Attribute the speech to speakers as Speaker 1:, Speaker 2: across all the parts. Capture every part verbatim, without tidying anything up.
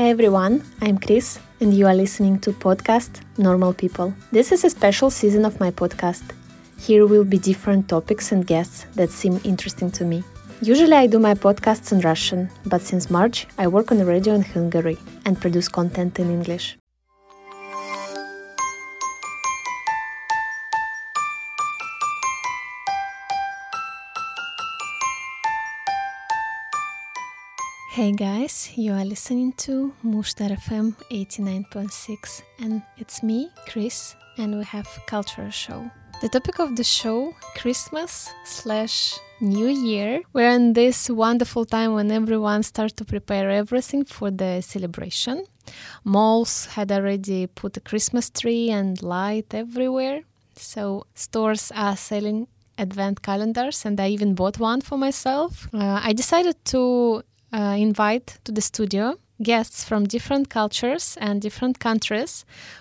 Speaker 1: Hi everyone, I'm Chris and you are listening to podcast Normal People. This is a special season of my podcast. Here will be different topics and guests that seem interesting to me. Usually I do my podcasts in Russian, but since March I work on the radio in Hungary and produce content in English. Hey guys, you are listening to Mushtar F M eighty-nine point six and it's me, Chris, and we have cultural show. The topic of the show, Christmas slash New Year. We're in this wonderful time when everyone starts to prepare everything for the celebration. Malls had already put a Christmas tree and light everywhere. So stores are selling advent calendars and I even bought one for myself. Uh, I decided to Uh, invite to the studio guests from different cultures and different countries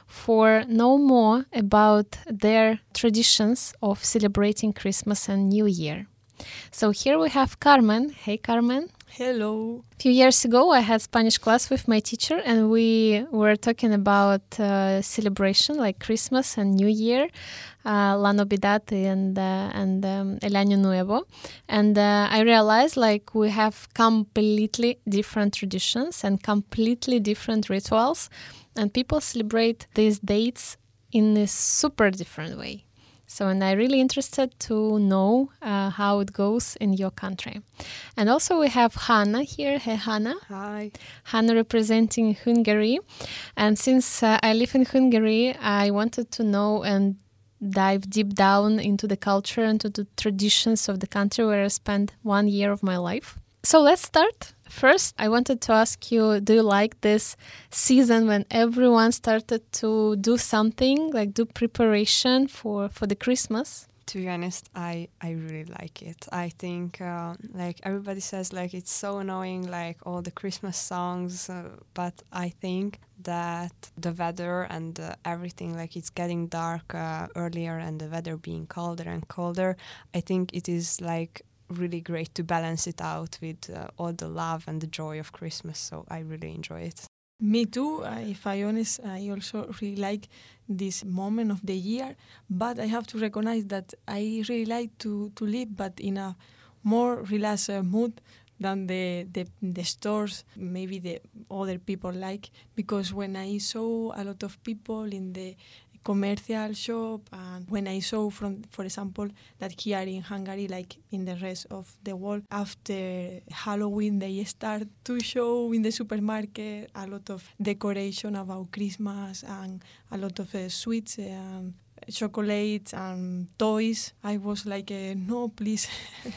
Speaker 1: for know more about their traditions of celebrating Christmas and New Year. So here we have Carmen. Hey Carmen.
Speaker 2: Hello.
Speaker 1: A few years ago I had Spanish class with my teacher and we were talking about uh, celebration like Christmas and New Year, uh, La Navidad and uh, and um, El Año Nuevo. And uh, I realized like we have completely different traditions and completely different rituals, and people celebrate these dates in a super different way. So, and I'm really interested to know uh, how it goes in your country. And also we have Hanna here. Hey, Hanna.
Speaker 2: Hi.
Speaker 1: Hanna representing Hungary. And since uh, I live in Hungary, I wanted to know and dive deep down into the culture and to the traditions of the country where I spent one year of my life. So let's start. First, I wanted to ask you, do you like this season when everyone started to do something, like do preparation for, for the Christmas?
Speaker 2: To be honest, I, I really like it. I think uh, like everybody says like it's so annoying, like all the Christmas songs, uh, but I think that the weather and uh, everything, like it's getting dark uh, earlier and the weather being colder and colder, I think it is like really great to balance it out with uh, all the love and the joy of Christmas. So I really enjoy it.
Speaker 3: Me too. Uh, if I honest, I also really like this moment of the year. But I have to recognize that I really like to, to live, but in a more relaxed uh, mood than the, the the stores, maybe the other people like. Because when I saw a lot of people in the commercial shop, and when I saw, from for example, that here in Hungary, like in the rest of the world, after Halloween they start to show in the supermarket a lot of decoration about Christmas and a lot of uh, sweets and chocolates and toys. I was like, uh, no, please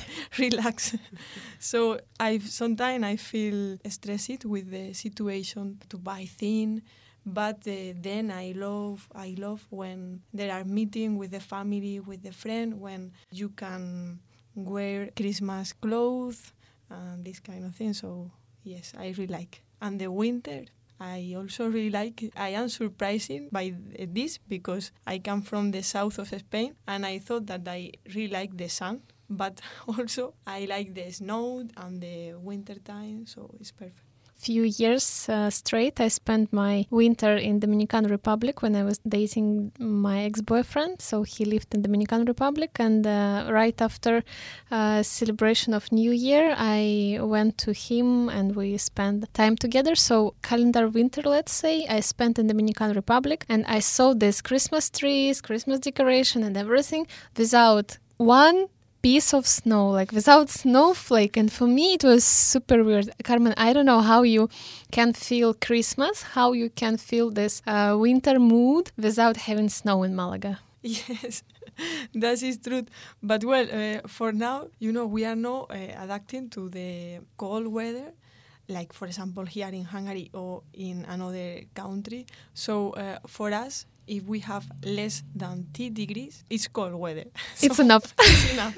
Speaker 3: relax. So I sometimes I feel stressed with the situation to buy things. But uh, then I love I love when there are meetings with the family, with the friend, when you can wear Christmas clothes and this kind of thing. So yes, I really like. And the winter, I also really like. I am surprised by this because I come from the south of Spain and I thought that I really like the sun. But also I like the snow and the winter time, so it's perfect.
Speaker 1: Few years uh, straight I spent my winter in Dominican Republic when I was dating my ex-boyfriend. So he lived in Dominican Republic, and uh, right after uh, celebration of New Year I went to him and we spent time together. So calendar winter, let's say, I spent in Dominican Republic and I saw these Christmas trees, Christmas decoration and everything without one piece of snow, like without snowflake. And for me it was super weird. Carmen, I don't know how you can feel Christmas, how you can feel this uh, winter mood without having snow in Malaga.
Speaker 3: Yes, that is true. But well, uh, for now, you know, we are now uh, adapting to the cold weather, like for example here in Hungary or in another country. So uh, for us, if we have less than ten degrees, it's cold weather.
Speaker 1: It's
Speaker 3: so
Speaker 1: enough.
Speaker 3: It's enough.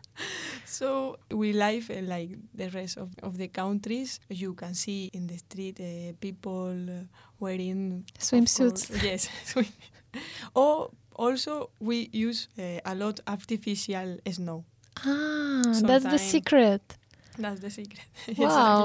Speaker 3: So we live uh, like the rest of, of the countries. You can see in the street uh, people uh, wearing
Speaker 1: swimsuits.
Speaker 3: Yes. Or also we use uh, a lot artificial snow.
Speaker 1: Ah,
Speaker 3: Sometime.
Speaker 1: that's the secret.
Speaker 3: That's the secret. Yes,
Speaker 1: Wow.
Speaker 3: exactly.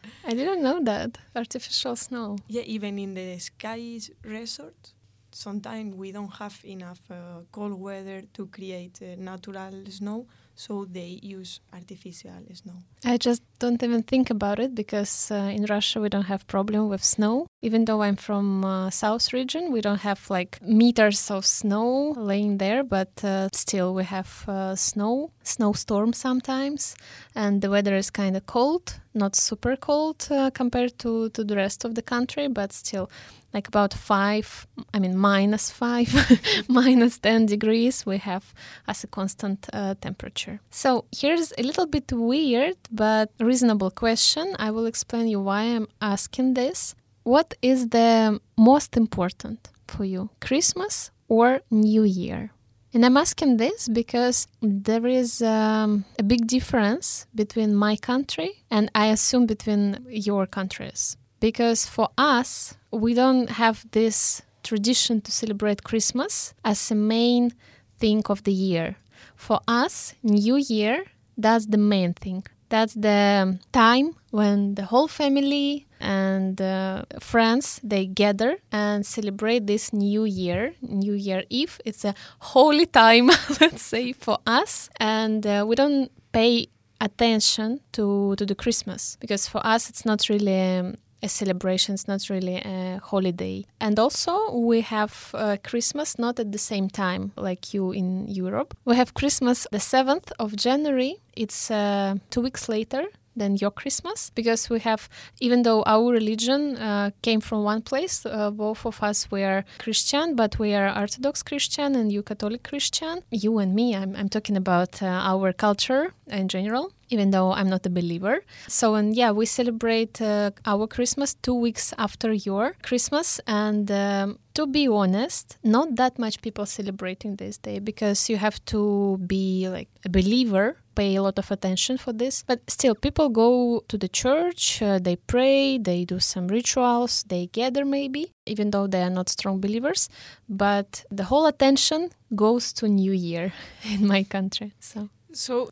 Speaker 1: I didn't know that. Artificial snow.
Speaker 3: Yeah, even in the skies resort, sometimes we don't have enough uh, cold weather to create uh, natural snow, so they use artificial snow.
Speaker 1: I just don't even think about it because uh, in Russia we don't have problem with snow. Even though I'm from uh, south region, we don't have like meters of snow laying there, but uh, still we have uh, snow, snowstorm sometimes, and the weather is kind of cold, not super cold uh, compared to, to the rest of the country, but still like about five, I mean minus five, minus ten degrees we have as a constant uh, temperature. So here's a little bit weird but reasonable question. I will explain you why I'm asking this. What is the most important for you, Christmas or New Year? And I'm asking this because there is um, a big difference between my country and I assume between your countries. Because for us, we don't have this tradition to celebrate Christmas as a main thing of the year. For us, New Year, that's the main thing. That's the time when the whole family and uh, friends, they gather and celebrate this New Year, New Year Eve. It's a holy time, let's say, for us. And uh, we don't pay attention to, to the Christmas because for us, it's not really um, a celebration, it's not really a holiday. And also we have uh, Christmas not at the same time like you in Europe. We have Christmas the seventh of January. It's uh, two weeks later than your Christmas, because we have, even though our religion uh, came from one place, uh, both of us were Christian, but we are Orthodox Christian and you Catholic Christian. You and me, I'm, I'm talking about uh, our culture in general, even though I'm not a believer. So, and yeah, we celebrate uh, our Christmas two weeks after your Christmas. And um, to be honest, not that much people celebrating this day because you have to be like a believer, pay a lot of attention for this. But still, people go to the church, uh, they pray, they do some rituals, they gather maybe, even though they are not strong believers. But the whole attention goes to New Year in my country. So,
Speaker 3: so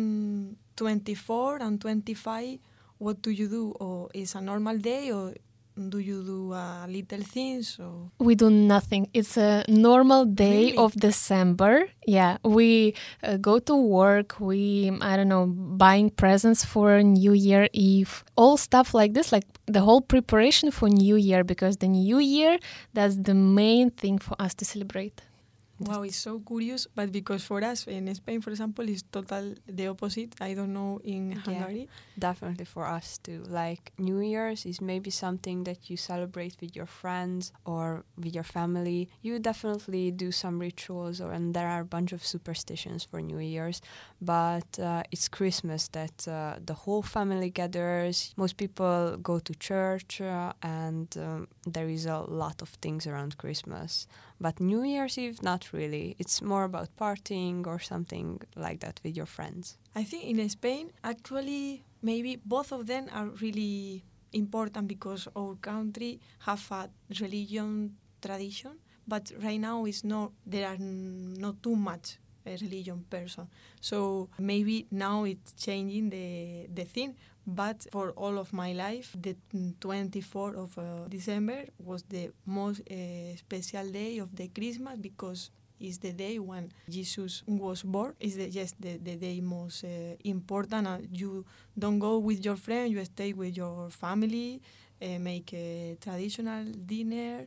Speaker 3: on twenty-four and twenty-five, what do you do? Or is a normal day, or do you do uh, little things? Or?
Speaker 1: We do nothing. It's a normal day
Speaker 3: Really?
Speaker 1: of December. Yeah, we uh, go to work. We, I don't know, buying presents for New Year Eve. All stuff like this, like the whole preparation for New Year, because the New Year, that's the main thing for us to celebrate.
Speaker 3: Wow, it's so curious, but because for us in Spain, for example, it's total the opposite. I don't know in Hungary.
Speaker 2: Yeah, definitely for us too. Like New Year's is maybe something that you celebrate with your friends or with your family. You definitely do some rituals, or and there are a bunch of superstitions for New Year's. But uh, it's Christmas that uh, the whole family gathers. Most people go to church, uh, and um, there is a lot of things around Christmas. But New Year's Eve, not really. It's more about partying or something like that with your friends.
Speaker 3: I think in Spain, actually, maybe both of them are really important because our country have a religion tradition, but right now is not, there are not too much a religion person. So maybe now it's changing the the thing. But for all of my life, the twenty-fourth of uh, December was the most uh, special day of the Christmas because it's the day when Jesus was born. It's the, yes, the, the day most uh, important. Uh, you don't go with your friend, you stay with your family, uh, make a traditional dinner,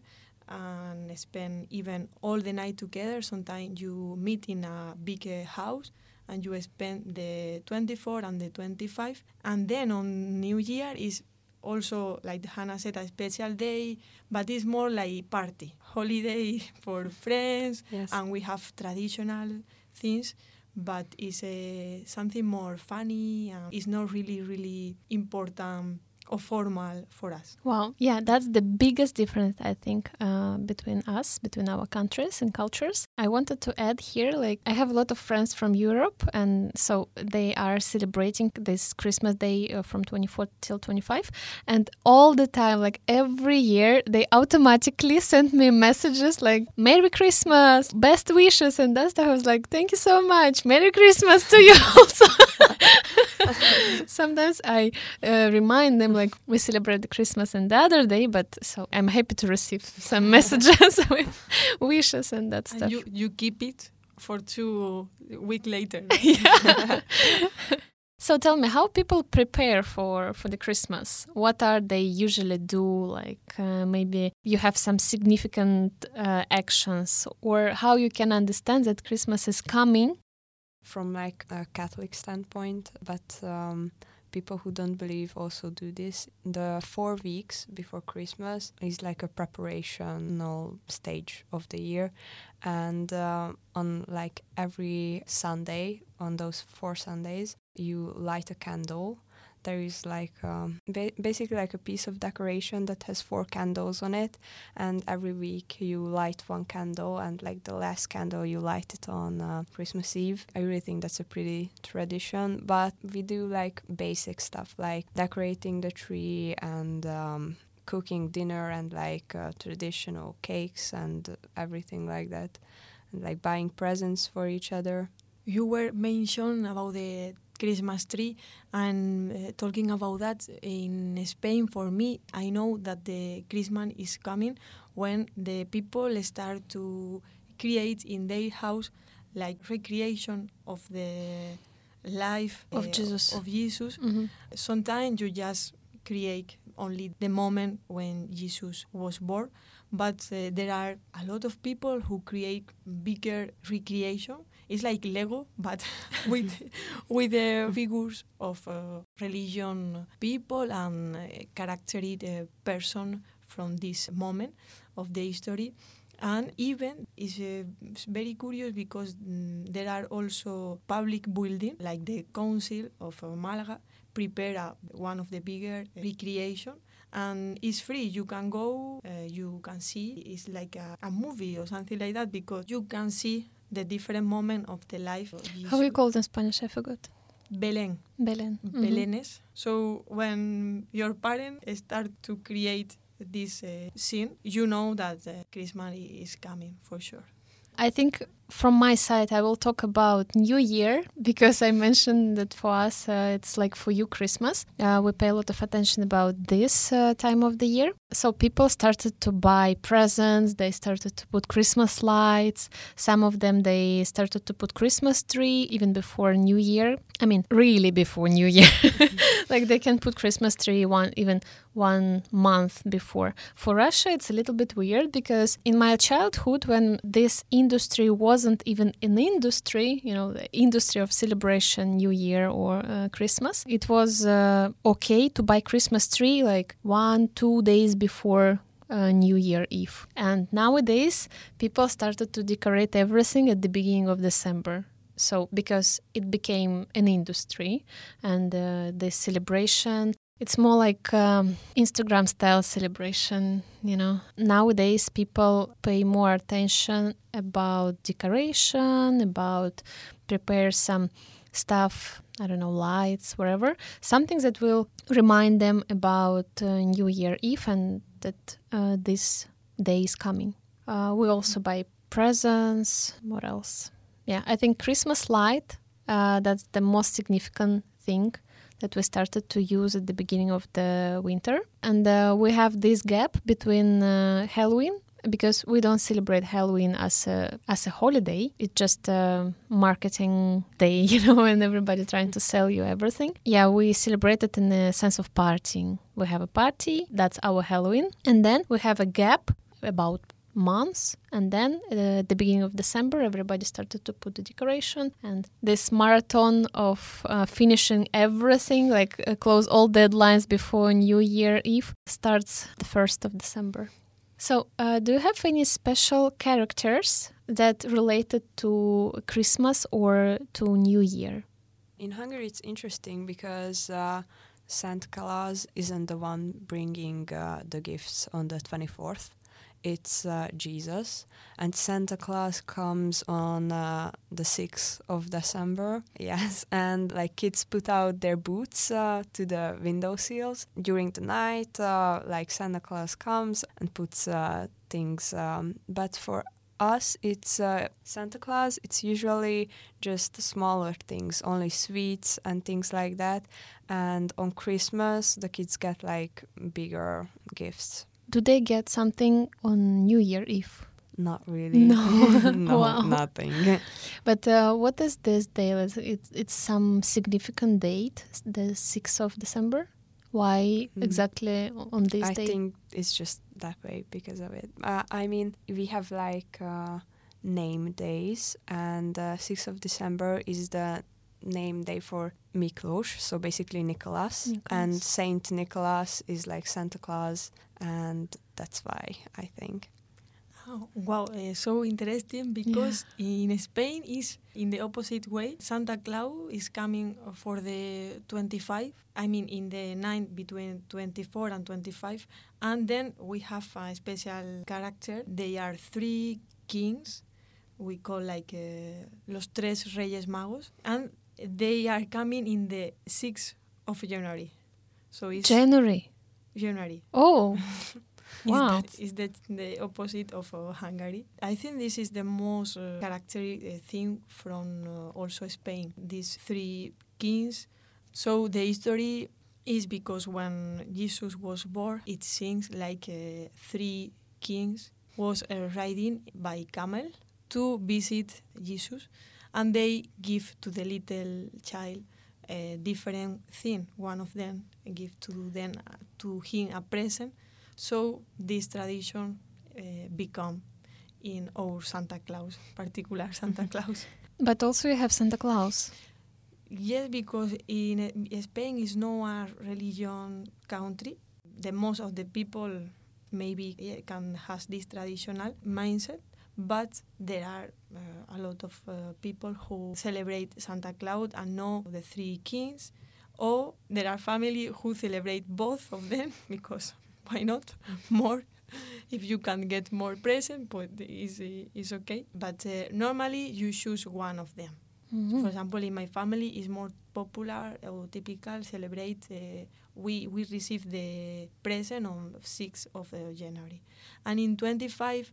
Speaker 3: and spend even all the night together. Sometimes you meet in a big uh, house and you spend the twenty-fourth and the twenty-fifth. And then on New Year is also, like Hannah said, a special day, but it's more like party, holiday for friends,
Speaker 2: Yes.
Speaker 3: and we have traditional things, but it's uh, something more funny, and it's not really, really important or formal for us.
Speaker 1: Wow. Yeah, that's the biggest difference, I think, uh, between us, between our countries and cultures. I wanted to add here, like, I have a lot of friends from Europe, and so they are celebrating this Christmas day uh, from twenty-fourth till twenty-fifth, and all the time, like every year, they automatically send me messages like, Merry Christmas, best wishes, and that stuff. I was like, thank you so much, Merry Christmas to you also. Sometimes I uh, remind them like we celebrate the Christmas and the other day, but so I'm happy to receive some messages with wishes and that
Speaker 3: And
Speaker 1: stuff.
Speaker 3: you, you keep it for two weeks later.
Speaker 1: Yeah. So tell me, how people prepare for, for the Christmas? What are they usually do? Like uh, maybe you have some significant uh, actions, or how you can understand that Christmas is coming.
Speaker 2: From like a Catholic standpoint, but um, people who don't believe also do this. The four weeks before Christmas is like a preparational stage of the year, and uh, on like every Sunday, on those four Sundays, you light a candle. There is like um, ba- basically like a piece of decoration that has four candles on it, and every week you light one candle, and like the last candle you light it on uh, Christmas Eve. I really think that's a pretty tradition, but we do like basic stuff like decorating the tree and um, cooking dinner and like uh, traditional cakes and everything like that, and like buying presents for each other.
Speaker 3: You were mentioned about the Christmas tree, and uh, talking about that in Spain, for me, I know that the Christmas is coming when the people start to create in their house like recreation of the life
Speaker 1: Of
Speaker 3: uh,
Speaker 1: Jesus.
Speaker 3: Of Jesus.
Speaker 1: Mm-hmm.
Speaker 3: Sometimes you just create only the moment when Jesus was born, but uh, there are a lot of people who create bigger recreation. It's like Lego, but with with the figures of uh, religion people and uh, characteristic uh, person from this moment of the history. And even it's uh, very curious because mm, there are also public buildings like the Council of uh, Malaga prepare uh, one of the bigger recreation, and it's free. You can go, uh, you can see. It's like a, a movie or something like that because you can see the different moment of the life of Jesus.
Speaker 1: How we call it in Spanish? I forgot.
Speaker 3: Belén.
Speaker 1: Belén. Mm-hmm.
Speaker 3: Belénes. So when your parents start to create this uh, scene, you know that uh, Christmas is coming for sure.
Speaker 1: I think from my side, I will talk about New Year, because I mentioned that for us, uh, it's like for you, Christmas. Uh, we pay a lot of attention about this uh, time of the year. So people started to buy presents. They started to put Christmas lights. Some of them, they started to put Christmas tree even before New Year. I mean, really before New Year. Like they can put Christmas tree one even one month before. For Russia, it's a little bit weird because in my childhood, when this industry wasn't even an industry, you know, the industry of celebration, New Year or uh, Christmas, it was uh, okay to buy Christmas tree like one, two days before uh, New Year Eve. And nowadays, people started to decorate everything at the beginning of December. So because it became an industry and uh, the celebration, it's more like um, Instagram style celebration, you know. Nowadays, people pay more attention about decoration, about prepare some stuff, I don't know, lights, whatever. Something that will remind them about uh, New Year Eve and that uh, this day is coming. Uh, we also buy presents. What else? Yeah, I think Christmas light, uh, that's the most significant thing that we started to use at the beginning of the winter. And uh, we have this gap between uh, Halloween, because we don't celebrate Halloween as a as a holiday. It's just a marketing day, you know, and everybody trying to sell you everything. Yeah, we celebrate it in the sense of partying. We have a party, that's our Halloween. And then we have a gap about months, and then uh, at the beginning of December everybody started to put the decoration, and this marathon of uh, finishing everything, like uh, close all deadlines before New Year Eve, starts the first of December. So uh, do you have any special characters that related to Christmas or to New Year?
Speaker 2: In Hungary it's interesting because uh, Santa Claus isn't the one bringing uh, the gifts on the twenty-fourth. It's uh, Jesus, and Santa Claus comes on uh, the sixth of December. Yes, and like kids put out their boots uh, to the window sills during the night. Uh, like Santa Claus comes and puts uh, things. Um, but for us, it's uh, Santa Claus. It's usually just smaller things, only sweets and things like that. And on Christmas, the kids get like bigger gifts.
Speaker 1: Do they get something on New Year Eve?
Speaker 2: Not really.
Speaker 1: No.
Speaker 2: No,
Speaker 1: Wow.
Speaker 2: nothing.
Speaker 1: But uh, what is this day? It's, it's some significant date, the sixth of December? Why
Speaker 2: Mm.
Speaker 1: exactly on this
Speaker 2: I
Speaker 1: day?
Speaker 2: think it's just that way because of it. Uh, I mean, we have like uh, name days, and uh, sixth of December is the name day for Miklós, so basically Nicholas.
Speaker 1: Nicholas.
Speaker 2: And Saint Nicholas is like Santa Claus, and that's why I think.
Speaker 3: Oh, wow, uh, so interesting because in Spain is in the opposite way. Santa Claus is coming for the twenty-five, I mean in the night between twenty-four and twenty-five, and then we have a special character. They are three kings, we call like uh, Los Tres Reyes Magos, and they are coming in the sixth of January. So it's
Speaker 1: January.
Speaker 3: January.
Speaker 1: Oh,
Speaker 3: Is
Speaker 1: wow.
Speaker 3: that, is that the opposite of uh, Hungary? I think this is the most uh, characteristic uh, thing from uh, also Spain. These three kings. So the history is because when Jesus was born, it seems like uh, three kings was uh, riding by camel to visit Jesus, and they give to the little child a different thing. One of them give to them uh, to him a present. So this tradition uh, become in our Santa Claus, particular Santa Claus.
Speaker 1: But also you have Santa Claus.
Speaker 3: Yes, because in uh, Spain is not a religion country. The most of the people maybe yeah, can has this traditional mindset, but there are uh, a lot of uh, people who celebrate Santa Claus and know the three kings, or there are family who celebrate both of them because why not? More. If you can get more present, but it's, it's okay. But uh, normally you choose one of them.
Speaker 1: Mhm.
Speaker 3: For example, in my family, is more popular or typical celebrate. Uh, we we receive the present on sixth of uh, January, and in twenty-five,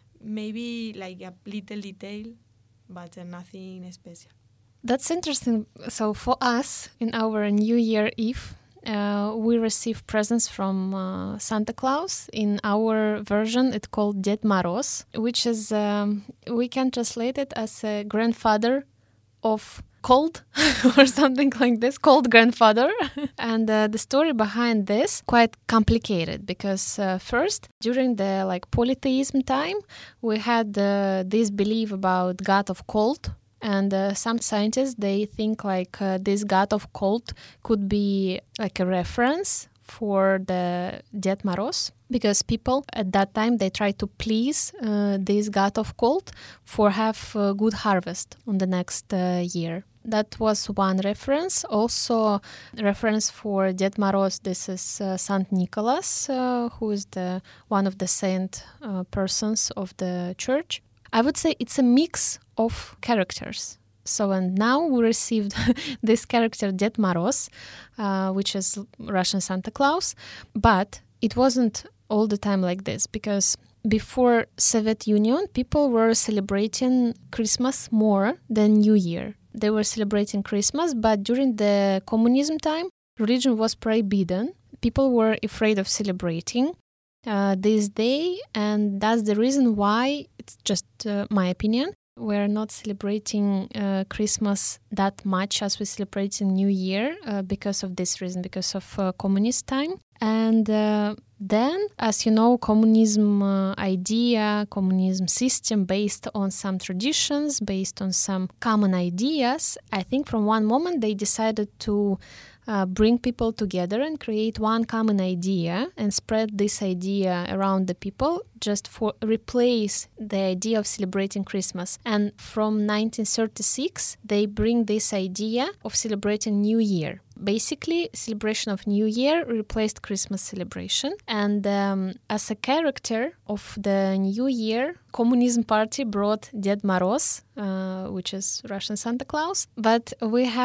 Speaker 3: maybe like a little detail, but uh, nothing special.
Speaker 1: That's interesting. So for us, in our New Year Eve, uh, we receive presents from uh, Santa Claus. In our version, it's called Ded Moroz, which is, um, we can translate it as a grandfather of cold or something like this, cold grandfather. And uh, the story behind this quite complicated because uh, first, during the like polytheism time, we had uh, this belief about God of cold. And uh, some scientists, they think like uh, this god of cold could be like a reference for the Ded Moroz, because people at that time, they tried to please uh, this god of cold for have a good harvest on the next uh, year. That was one reference. Also, reference for Ded Moroz, this is uh, Saint Nicholas, uh, who is the one of the saint uh, persons of the church. I would say it's a mix of characters. So, and now we received this character Ded Moroz, uh, which is Russian Santa Claus, but it wasn't all the time like this, because before Soviet Union, people were celebrating Christmas more than New Year. They were celebrating Christmas, but during the communism time, religion was prohibited. People were afraid of celebrating Uh, this day, and that's the reason why, it's just uh, my opinion, we're not celebrating uh, Christmas that much as we celebrate in New Year uh, because of this reason, because of uh, communist time. And uh, then, as you know, communism uh, idea, communism system based on some traditions, based on some common ideas, I think from one moment they decided to Uh, bring people together and create one common idea and spread this idea around the people, just for replace the idea of celebrating Christmas. And from nineteen thirty-six, they bring this idea of celebrating New Year. Basically, celebration of New Year replaced Christmas celebration. And um, as a character of the New Year, Communism Party brought Ded Moroz, uh, which is Russian Santa Claus. But we have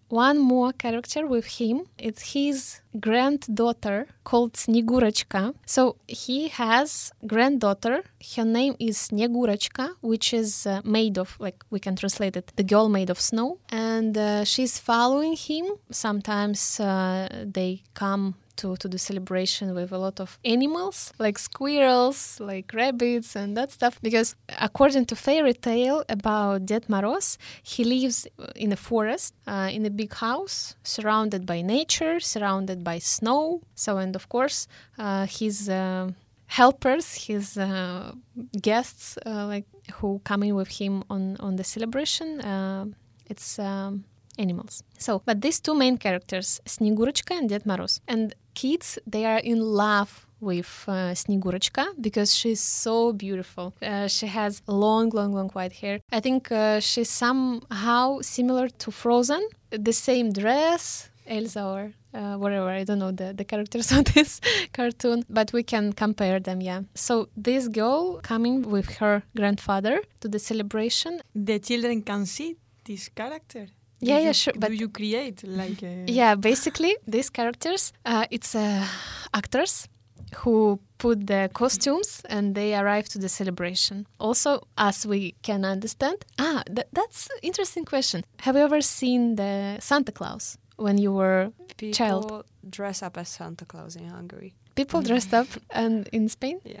Speaker 1: one more character with him. It's his granddaughter called Snegurочка. So he has granddaughter. Her name is Snegurочка, which is uh, made of, like we can translate it, the girl made of snow. And uh, she's following him. Sometimes uh, they come to, to the celebration with a lot of animals, like squirrels, like rabbits and that stuff. Because according to fairy tale about Ded Moroz, he lives in a forest, uh, in a big house, surrounded by nature, surrounded by snow. So, and of course, uh, his uh, helpers, his uh, guests, uh, like who come in with him on, on the celebration, uh, it's... Um, animals. So, but these two main characters, Snegurочка and Ded Moroz. And kids, they are in love with uh, Snegurочка because she's so beautiful. Uh, she has long, long, long white hair. I think uh, she's somehow similar to Frozen. The same dress, Elsa or uh, whatever. I don't know the, the characters of this cartoon, but we can compare them, yeah. So this girl coming with her grandfather to the celebration.
Speaker 3: The children can see this character.
Speaker 1: Yeah,
Speaker 3: do
Speaker 1: yeah,
Speaker 3: you,
Speaker 1: sure. But
Speaker 3: do you create like a...
Speaker 1: Yeah, basically these characters, uh, it's uh, actors who put the costumes and they arrive to the celebration. Also, as we can understand, ah, th- that's an interesting question. Have you ever seen the Santa Claus when you were
Speaker 2: People
Speaker 1: child?
Speaker 2: dress up as Santa Claus in Hungary.
Speaker 1: People dressed up and in Spain?
Speaker 2: Yeah.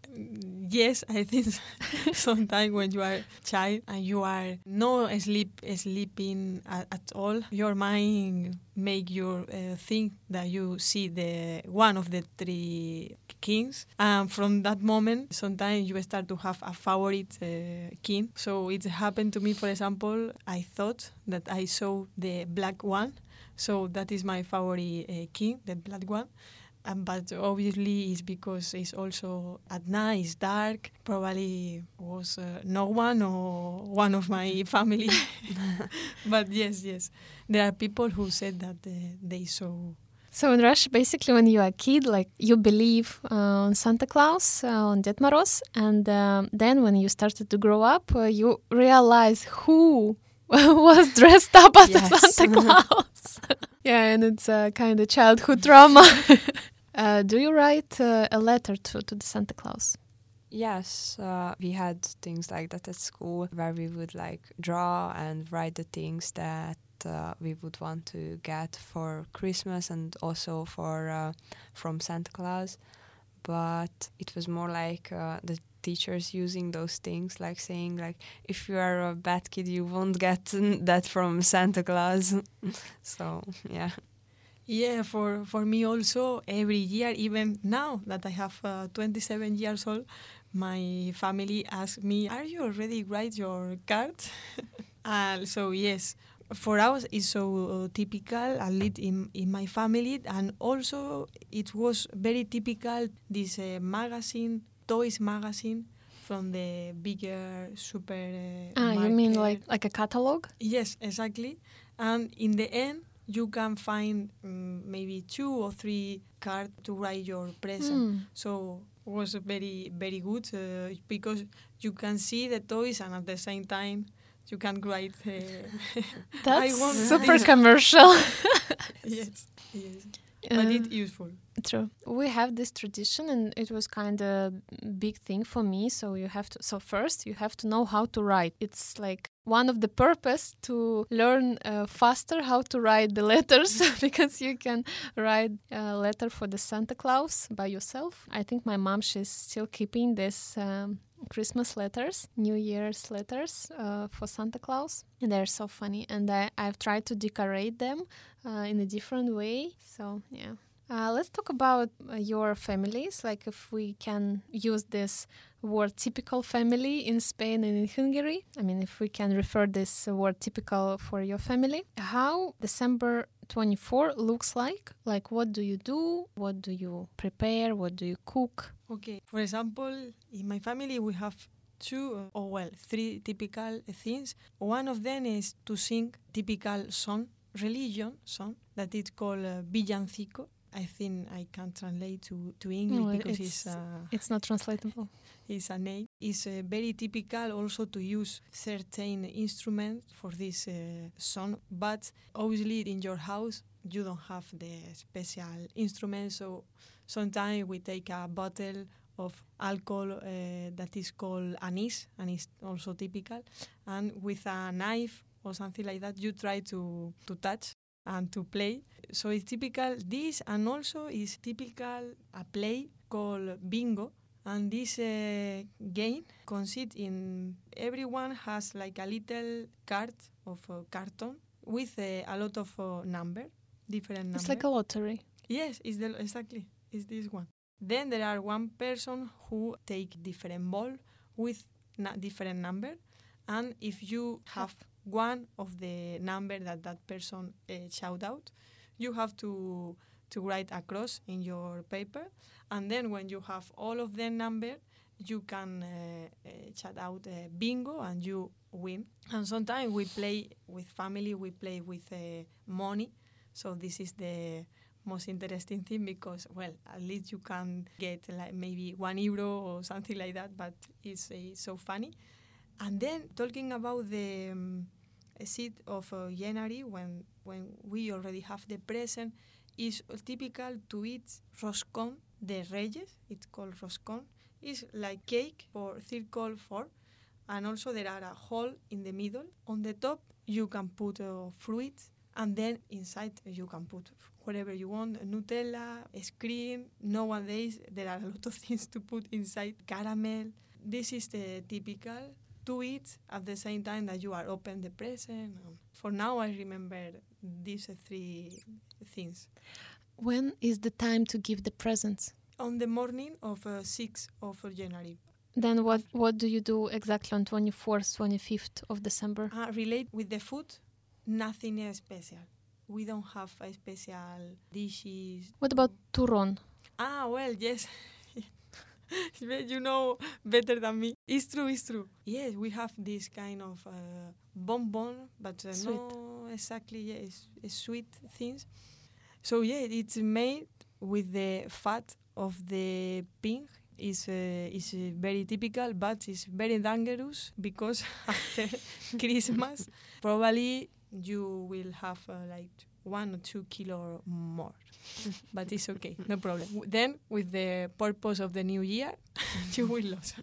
Speaker 3: Yes, I think sometimes when you are a child and you are no sleep sleeping at, at all, your mind make you uh, think that you see the one of the three kings, and from that moment, sometimes you start to have a favorite uh, king. So it happened to me. For example, I thought that I saw the black one, so that is my favorite uh, king, the black one. Um, but obviously it's because it's also at night, it's dark. Probably was uh, no one or one of my family. But yes, yes. There are people who said that uh, they saw.
Speaker 1: So in Russia, basically when you're a kid, like you believe uh, on Santa Claus, uh, on Ded Moroz, and um, then when you started to grow up, uh, you realize who was dressed up as
Speaker 2: Yes.
Speaker 1: a Santa Claus. Yeah, and it's a kind of childhood trauma. Uh, do you write uh, a letter to, to the Santa Claus?
Speaker 2: Yes, uh, we had things like that at school where we would like draw and write the things that uh, we would want to get for Christmas and also for uh, from Santa Claus. But it was more like uh, the teachers using those things, like saying like, if you are a bad kid, you won't get that from Santa Claus. So, yeah.
Speaker 3: Yeah, for, for me also, every year, even now that I have uh, twenty-seven years old, my family asks me, are you already write your card? uh, so yes, for us it's so typical, at least in, in my family, and also it was very typical, this uh, magazine, toys magazine, from the bigger super uh,
Speaker 1: Ah, you mean
Speaker 3: market.
Speaker 1: like, like a catalog?
Speaker 3: Yes, exactly. And in the end, you can find um, maybe two or three cards to write your present.
Speaker 1: Mm.
Speaker 3: So it was very, very good uh, because you can see the toys and at the same time you can write. Uh,
Speaker 1: That's
Speaker 3: want
Speaker 1: super
Speaker 3: this.
Speaker 1: commercial.
Speaker 3: Yes, yes. But
Speaker 1: Uh,
Speaker 3: it's useful.
Speaker 1: True. We have this tradition and it was kind of big thing for me. So you have to, so first you have to know how to write. It's like one of the purpose to learn uh, faster how to write the letters because you can write a letter for the Santa Claus by yourself. I think my mom, she's still keeping this um, Christmas letters, New Year's letters uh, for Santa Claus. And they're so funny. And I, I've tried to decorate them uh, in a different way. So, yeah. Uh, let's talk about uh, your families, like if we can use this word typical family in Spain and in Hungary. I mean, if we can refer this uh, word typical for your family. How December twenty-fourth looks like? Like what do you do? What do you prepare? What do you cook?
Speaker 3: Okay, for example, in my family we have two, uh, or well, three typical things. One of them is to sing typical song, religion song, that is called uh, villancico. I think I can't translate to, to English
Speaker 1: No,
Speaker 3: because
Speaker 1: it's,
Speaker 3: it's, uh,
Speaker 1: it's not translatable.
Speaker 3: it's a name. It's uh, very typical also to use certain instruments for this uh, song, but obviously in your house you don't have the special instrument, so sometimes we take a bottle of alcohol uh, that is called anise, and it's also typical, and with a knife or something like that you try to, to touch and to play. So it's typical this, and also is typical a play called bingo. And this uh, game consists in everyone has like a little card of uh, carton with uh, a lot of uh, number, different numbers.
Speaker 1: It's like a lottery.
Speaker 3: Yes, it's the, exactly. It's this one. Then there are one person who take different ball with na- different number, and if you have one of the number that that person uh, shout out, you have to to write across in your paper, and then when you have all of the number, you can uh, uh, shout out uh, bingo and you win. And sometimes we play with family, we play with uh, money, so this is the most interesting thing because, well, at least you can get like maybe one euro or something like that, but it's, uh, so funny. And then talking about the um, seed of uh, January, when when we already have the present, is typical to eat roscón de Reyes. It's called roscón. It's like cake for circle four, and also there are a hole in the middle. On the top you can put uh, fruit, and then inside you can put whatever you want, Nutella, ice cream. Nowadays there are a lot of things to put inside, caramel. This is the typical to eat at the same time that you are open the present. Um, for now I remember these uh, three things.
Speaker 1: When is the time to give the presents?
Speaker 3: On the morning of uh, sixth of January.
Speaker 1: Then what, what do you do exactly on twenty-fourth, twenty-fifth of December?
Speaker 3: Uh, relate with the food, nothing uh, special. We don't have a special dishes.
Speaker 1: What about turrón?
Speaker 3: Ah, well, yes. You know better than me. It's true, it's true. Yes, we have this kind of uh, bonbon, but uh,
Speaker 1: Sweet.
Speaker 3: no exactly, yes, yeah, sweet things. So yeah, it's made with the fat of the pig. It's, uh, it's uh, very typical, but it's very dangerous because after Christmas, probably you will have uh, like one or two kilo more. But it's okay, no problem. Then, with the purpose of the new year, you will lose.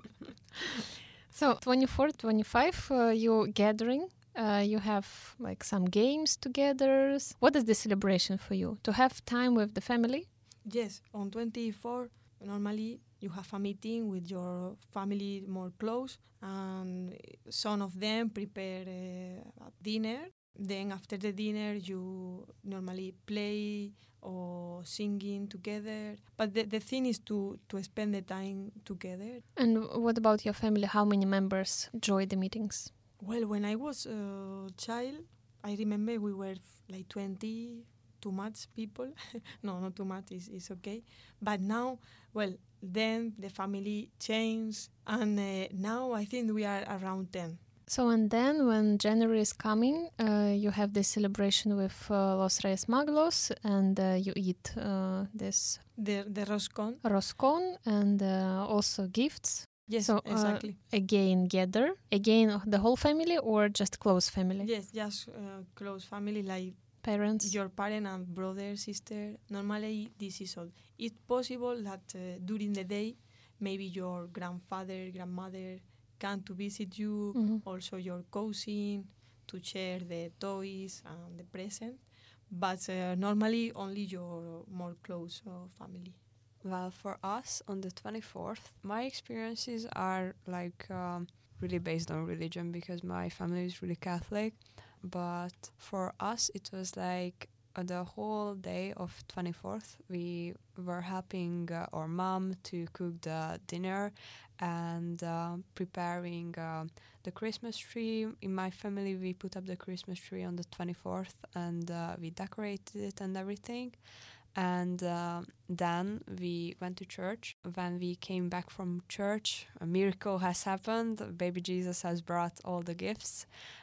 Speaker 1: So, twenty-fourth, twenty-fifth, uh, you're gathering. Uh, you have like some games together. What is the celebration for you? To have time with the family?
Speaker 3: Yes, on twenty-fourth, normally you have a meeting with your family more close, and some of them prepare uh, a dinner. Then after the dinner, you normally play or singing together. But the, the thing is to, to spend the time together.
Speaker 1: And what about your family? How many members join the meetings?
Speaker 3: Well, when I was a child, I remember we were like twenty, too much people. No, not too much, it's, it's okay. But now, well, then the family changed, and uh, now I think we are around ten.
Speaker 1: So, and then when January is coming, uh, you have this celebration with uh, Los Reyes Magos, and uh, you eat uh, this
Speaker 3: The the roscón.
Speaker 1: roscón and uh, also gifts.
Speaker 3: Yes,
Speaker 1: so,
Speaker 3: exactly.
Speaker 1: Uh, again, gather again the whole family or just close family?
Speaker 3: Yes, just uh, close family like
Speaker 1: parents,
Speaker 3: your parent and brother, sister. Normally, this is all. It's possible that uh, during the day, maybe your grandfather, grandmother come to visit you,
Speaker 1: mm-hmm.
Speaker 3: also your cousin, to share the toys and the present. But uh, normally only your more close uh, family.
Speaker 2: Well, for us on the twenty-fourth, my experiences are like um, really based on religion because my family is really Catholic. But for us, it was like uh, the whole day of twenty-fourth, we were helping uh, our mom to cook the dinner and uh, preparing uh, the Christmas tree. In my family, we put up the Christmas tree on the twenty-fourth and uh, we decorated it and everything. And uh, then we went to church. When we came back from church, a miracle has happened. Baby Jesus has brought all the gifts.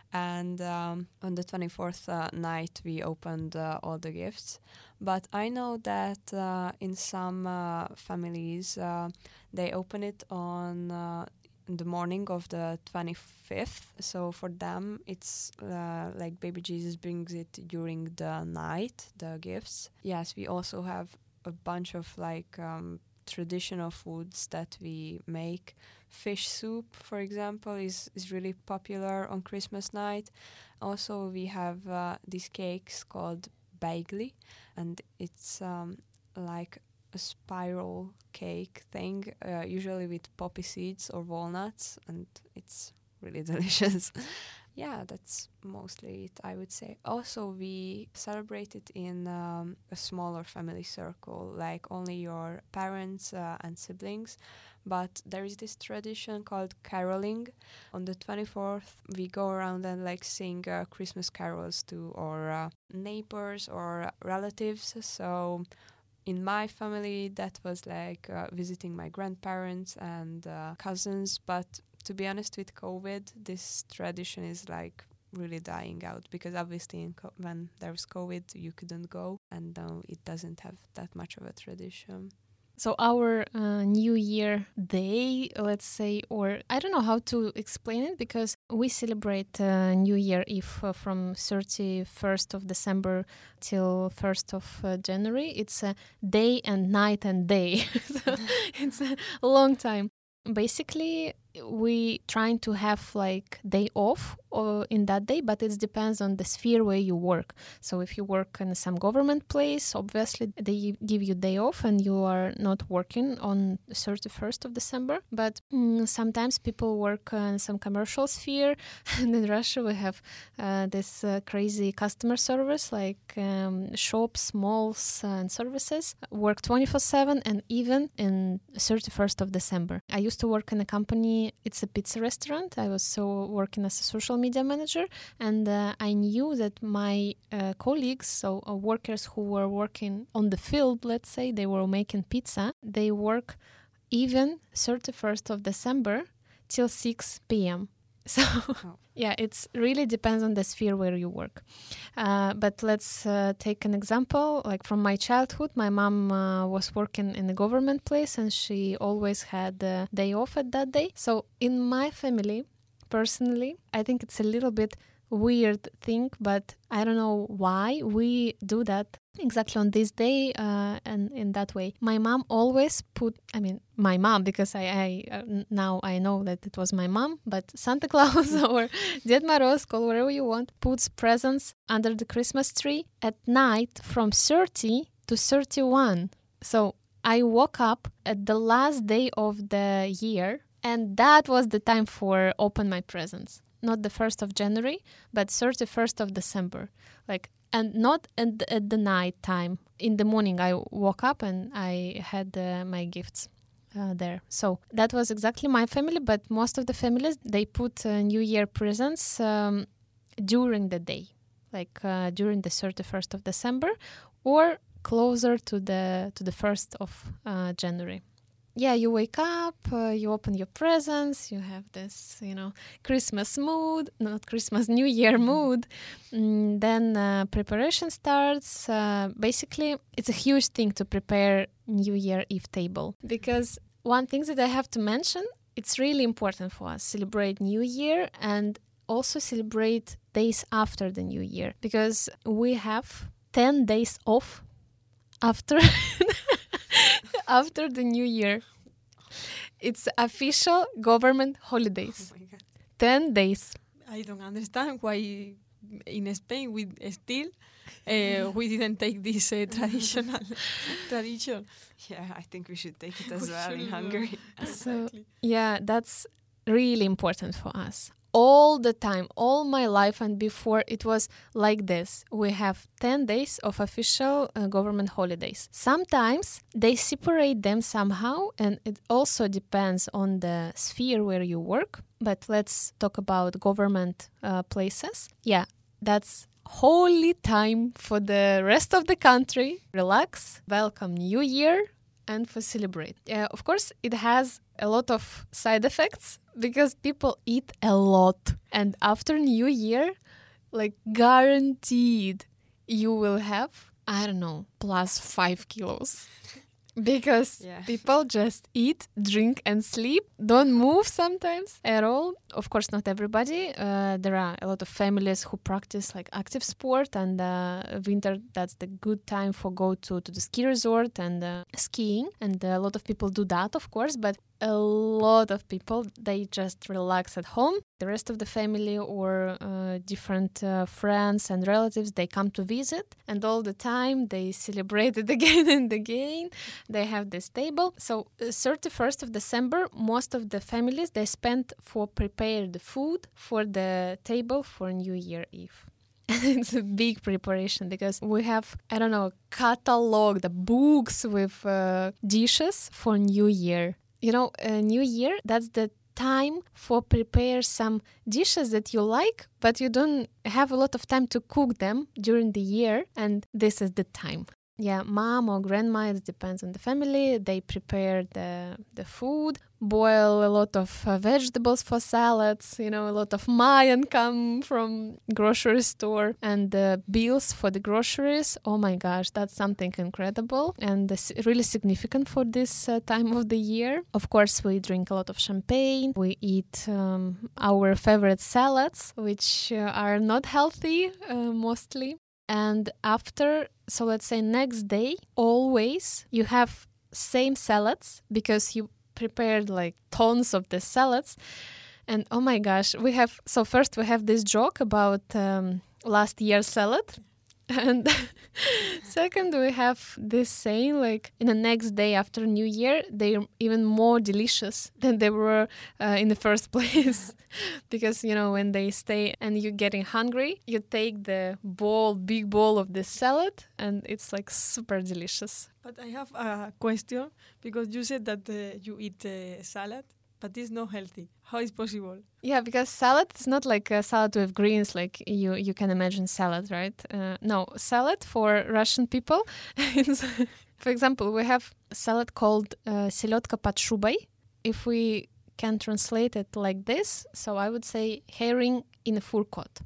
Speaker 2: And um, on the twenty-fourth uh, night, we opened uh, all the gifts. But I know that uh, in some uh, families, uh, they open it on uh, the morning of the twenty-fifth. So for them, it's uh, like baby Jesus brings it during the night, the gifts. Yes, we also have a bunch of like um, traditional foods that we make. Fish soup, for example, is, is really popular on Christmas night. Also, we have uh, these cakes called beigli, and it's um, like a spiral cake thing, uh, usually with poppy seeds or walnuts, and it's really delicious. Yeah, that's mostly it, I would say. Also, we celebrate it in um, a smaller family circle, like only your parents uh, and siblings. But there is this tradition called caroling. On the twenty-fourth, we go around and like sing uh, Christmas carols to our uh, neighbors or relatives. So in my family, that was like uh, visiting my grandparents and uh, cousins. But to be honest, with COVID, this tradition is like really dying out, because obviously in co- when there was COVID, you couldn't go, and now it doesn't have that much of a tradition.
Speaker 1: So our uh, New Year day, let's say, or I don't know how to explain it, because we celebrate uh, New Year Eve uh, from thirty-first of December till first of uh, January. It's a day and night and day. So it's a long time. Basically, we trying to have like day off or in that day, but it depends on the sphere where you work. So if you work in some government place, obviously they give you day off and you are not working on thirty-first of December. But mm, sometimes people work in some commercial sphere, and in Russia we have uh, this uh, crazy customer service, like um, shops, malls, uh, and services work twenty-four seven, and even in thirty-first of December. I used to work in a company. It's a pizza restaurant. I was so working as a social media manager, and uh, I knew that my uh, colleagues, so uh, workers who were working on the field, let's say, they were making pizza, they work even thirty-first of December till six p.m. So
Speaker 2: Oh.
Speaker 1: yeah, it really depends on the sphere where you work. Uh, but let's uh, take an example. Like from my childhood, my mom uh, was working in a government place, and she always had a day off at that day. So in my family, personally, I think it's a little bit weird thing, but I don't know why we do that exactly on this day uh, and in that way. My mom always put, I mean, my mom, because I, I uh, now I know that it was my mom, but Santa Claus or Ded Moroz, call whatever you want, puts presents under the Christmas tree at night from thirty to thirty-one. So I woke up at the last day of the year, and that was the time for open my presents. Not the first of January, but thirty-first of December. Like, and not at the, at the night time. In the morning, I woke up and I had uh, my gifts uh, there. So that was exactly my family, but most of the families, they put uh, New Year presents um, during the day, like uh, during the thirty-first of December or closer to the to the first of uh, January. Yeah, you wake up, uh, you open your presents, you have this, you know, Christmas mood, not Christmas, New Year mood. Mm, then uh, preparation starts. Uh, basically, it's a huge thing to prepare New Year Eve table, because one thing that I have to mention, it's really important for us, celebrate New Year and also celebrate days after the New Year, because we have ten days off after after the New Year. It's official government holidays.
Speaker 2: Oh my God.
Speaker 1: ten days.
Speaker 3: I don't understand why in Spain we still uh, we didn't take this uh, traditional tradition.
Speaker 2: Yeah, I think we should take it as
Speaker 3: We
Speaker 2: well in
Speaker 3: should, uh,
Speaker 2: Hungary.
Speaker 1: So
Speaker 3: Exactly.
Speaker 1: yeah, that's really important for us. All the time, all my life and before, it was like this. We have ten days of official uh, government holidays. Sometimes they separate them somehow, and it also depends on the sphere where you work. But let's talk about government uh, places. Yeah, that's holy time for the rest of the country. Relax, welcome New Year, and for celebrate. Uh, of course, it has a lot of side effects because people eat a lot. And after New Year, like guaranteed, you will have, I don't know, plus five kilos. Because
Speaker 2: Yeah.
Speaker 1: people just eat, drink, and sleep, don't move sometimes at all. Of course, not everybody. Uh, there are a lot of families who practice like active sport, and uh, winter, that's the good time for go to, to the ski resort and uh, skiing. And a lot of people do that, of course, but a lot of people, they just relax at home. The rest of the family or uh, different uh, friends and relatives, they come to visit, and all the time they celebrate it again and again. They have this table. So uh, thirty-first of December, most of the families, they spend for prepare the food for the table for New Year Eve. It's a big preparation because we have, I don't know, catalog, the books with uh, dishes for New Year. You know, uh, New Year, that's the time for prepare some dishes that you like, but you don't have a lot of time to cook them during the year, and this is the time. Yeah, mom or grandma, it depends on the family. They prepare the the food, boil a lot of uh, vegetables for salads, you know, a lot of mayan come from grocery store, and the bills for the groceries. Oh my gosh, that's something incredible and this really significant for this uh, time of the year. Of course, we drink a lot of champagne. We eat um, our favorite salads, which uh, are not healthy uh, mostly. And after, so let's say next day, always you have same salads because you prepared like tons of the salads. And oh my gosh, we have, so first we have this joke about um, last year's salad. And second, we have this saying like in the next day after New Year, they're even more delicious than they were uh, in the first place. Because, you know, when they stay and you're getting hungry, you take the bowl, big bowl of the salad, and it's like super delicious.
Speaker 3: But I have a question because you said that uh, you eat uh, salad, but it's not healthy. How is possible?
Speaker 1: Yeah, because salad is not like a salad with greens, like you, you can imagine salad, right? Uh, no, salad for Russian people. is, for example, we have a salad called uh, seletka под шубой. If we can translate it like this, so I would say herring in a fur coat.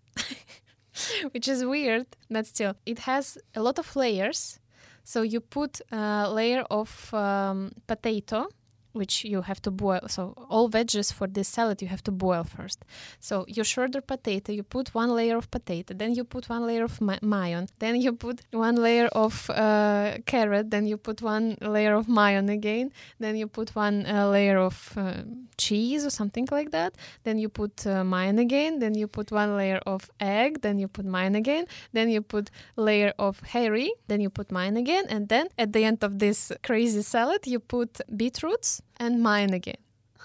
Speaker 1: Which is weird, but still, it has a lot of layers. So you put a layer of um, potato, which you have to boil. So all veggies for this salad you have to boil first. So you shredder potato, you put one layer of potato, then you put one layer of ma- mayon, then you put one layer of uh, carrot, then you put one layer of mayon again, then you put one uh, layer of uh, cheese or something like that, then you put uh, mayon again, then you put one layer of egg, then you put mayon again, then you put layer of herring, then you put mayon again, and then at the end of this crazy salad you put beetroots and mine again.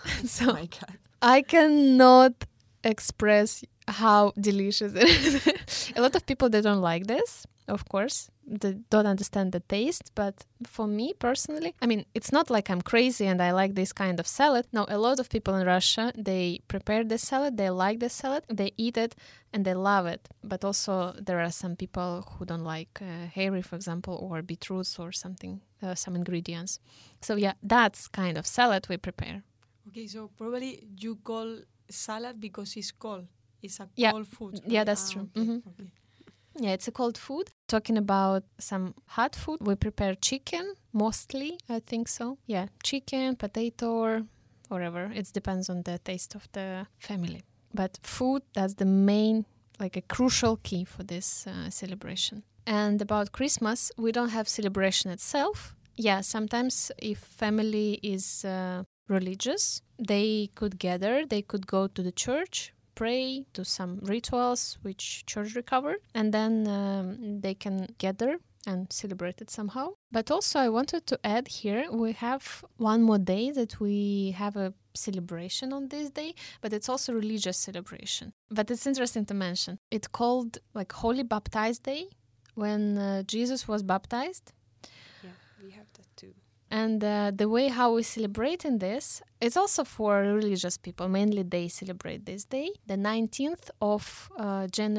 Speaker 1: So
Speaker 2: Oh my God.
Speaker 1: I cannot express how delicious it is. A lot of people, they don't like this, of course. They don't understand the taste. But for me personally, I mean, it's not like I'm crazy and I like this kind of salad. No, a lot of people in Russia, they prepare this salad, they like this salad, they eat it and they love it. But also there are some people who don't like uh, hairy, for example, or beetroots or something, uh, some ingredients. So yeah, that's kind of salad we prepare.
Speaker 3: Okay, so probably you call salad because it's cold. It's a
Speaker 1: Yeah.
Speaker 3: cold food.
Speaker 1: Yeah,
Speaker 3: right?
Speaker 1: that's
Speaker 3: Ah,
Speaker 1: true.
Speaker 3: Okay,
Speaker 1: Mhm.
Speaker 3: okay.
Speaker 1: Yeah, it's a cold food. Talking about some hot food, we prepare chicken, mostly, I think so. Yeah, chicken, potato, or whatever. It depends on the taste of the family. But food, that's the main, like a crucial key for this uh, celebration. And about Christmas, we don't have celebration itself. Yeah, sometimes if family is uh, religious, they could gather, they could go to the church, pray, do some rituals which church recover, and then um, they can gather and celebrate it somehow. But also I wanted to add here, we have one more day that we have a celebration on this day, but it's also religious celebration. But it's interesting to mention. It's called like Holy Baptized Day, when uh, Jesus was baptized.
Speaker 2: Yeah, we have that too.
Speaker 1: And uh, the way how we celebrate in this, it's also for religious people. Mainly they celebrate this day, the nineteenth of uh, January.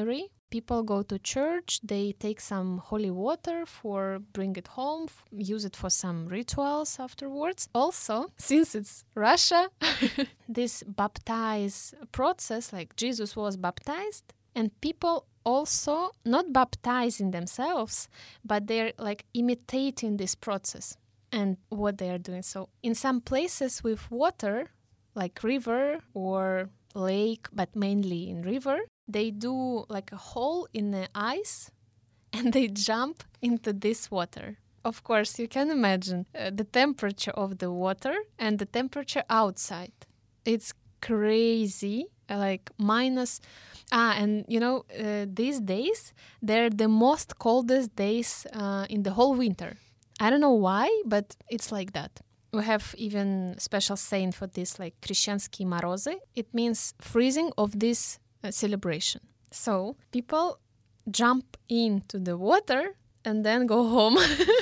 Speaker 1: people go to church, they take some holy water for bring it home, f- use it for some rituals afterwards. Also, since it's Russia, this baptize process, like Jesus was baptized, and people also not baptizing themselves, but they're like imitating this process and what they are doing. So in some places with water, like river or lake, but mainly in river, they do like a hole in the ice and they jump into this water. Of course, you can imagine uh, the temperature of the water and the temperature outside. It's crazy, uh, like minus... Ah, and you know, uh, these days, they're the most coldest days uh, in the whole winter. I don't know why, but it's like that. We have even special saying for this, like Krещенские морозы. It means freezing of this uh, celebration. So people jump into the water and then go home.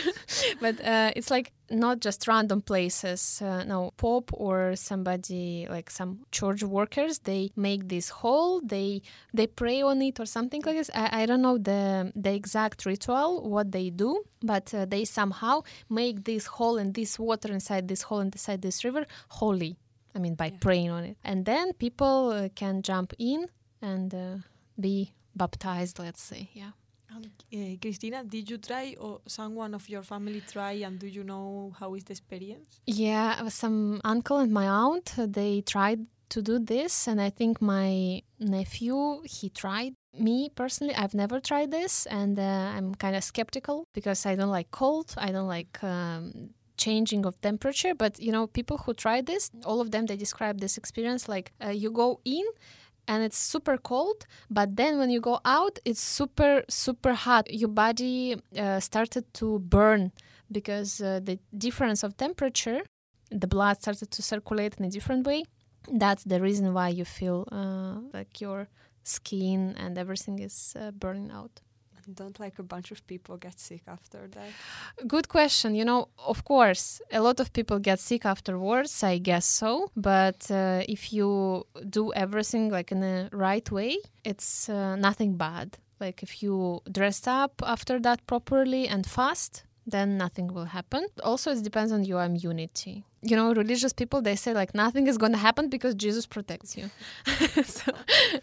Speaker 1: But uh, it's like not just random places. Uh, no, Pope or somebody, like some church workers, they make this hole, they they pray on it or something like this. I, I don't know the the exact ritual, what they do, but uh, they somehow make this hole and this water inside this hole and inside this river holy. I mean, by yeah. praying on it. And then people uh, can jump in and uh, be baptized, let's say, yeah.
Speaker 3: Um, uh, Christina, did you try or someone of your family try, and do you know how is the experience?
Speaker 1: Yeah, some uncle and my aunt, they tried to do this, and I think my nephew, he tried. Me personally, I've never tried this, and uh, I'm kind of skeptical because I don't like cold, I don't like um, changing of temperature, but you know, people who try this, all of them, they describe this experience like uh, you go in and it's super cold, but then when you go out, it's super, super hot. Your body uh, started to burn because uh, the difference of temperature, the blood started to circulate in a different way. That's the reason why you feel uh, like your skin and everything is uh, burning out.
Speaker 2: Don't like a bunch of people get sick after that?
Speaker 1: Good question. You know, of course, a lot of people get sick afterwards, I guess so. But uh, if you do everything like in the right way, it's uh, nothing bad. Like if you dress up after that properly and fast, then nothing will happen. Also, it depends on your immunity. You know, religious people, they say like nothing is going to happen because Jesus protects you. So,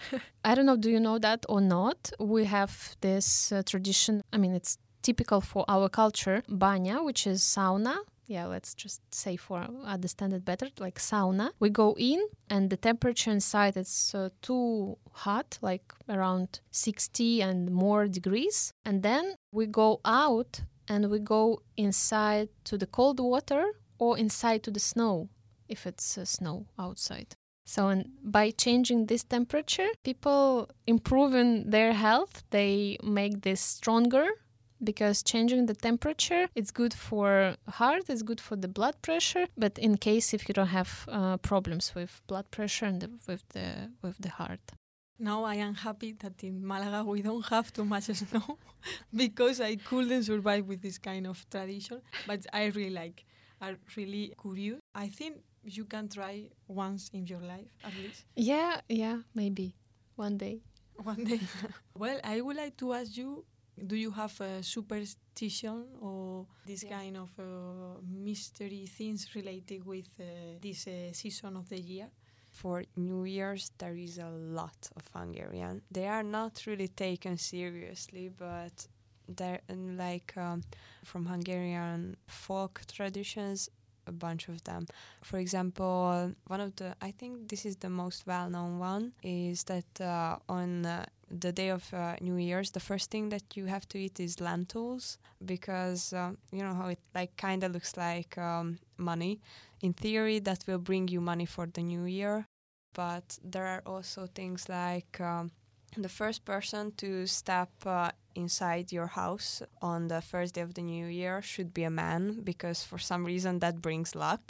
Speaker 1: I don't know, do you know that or not? We have this uh, tradition, I mean, it's typical for our culture, banya, which is sauna. Yeah, let's just say for understand it better, like sauna. We go in and the temperature inside is uh, too hot, like around sixty and more degrees. And then we go out and we go inside to the cold water or inside to the snow, if it's uh, snow outside. So and by changing this temperature, people improving their health, they make this stronger because changing the temperature, it's good for heart, it's good for the blood pressure, but in case if you don't have uh, problems with blood pressure and the, with the with the heart.
Speaker 3: Now I am happy that in Malaga we don't have too much snow because I couldn't survive with this kind of tradition, but I really like, I'm really curious. I think you can try once in your life at least.
Speaker 1: Yeah, yeah, maybe one day.
Speaker 3: One day. Well, I would like to ask you, do you have a superstition or this yeah. kind of uh, mystery things related with uh, this uh, season of the year?
Speaker 2: For New Year's, there is a lot of Hungarian. They are not really taken seriously, but they're like um, from Hungarian folk traditions, a bunch of them. For example, one of the, I think this is the most well-known one, is that uh, on uh, the day of uh, New Year's, the first thing that you have to eat is lentils, because um, you know how it like kind of looks like um, money. In theory, that will bring you money for the new year. But there are also things like um, the first person to step uh, inside your house on the first day of the new year should be a man, because for some reason that brings luck.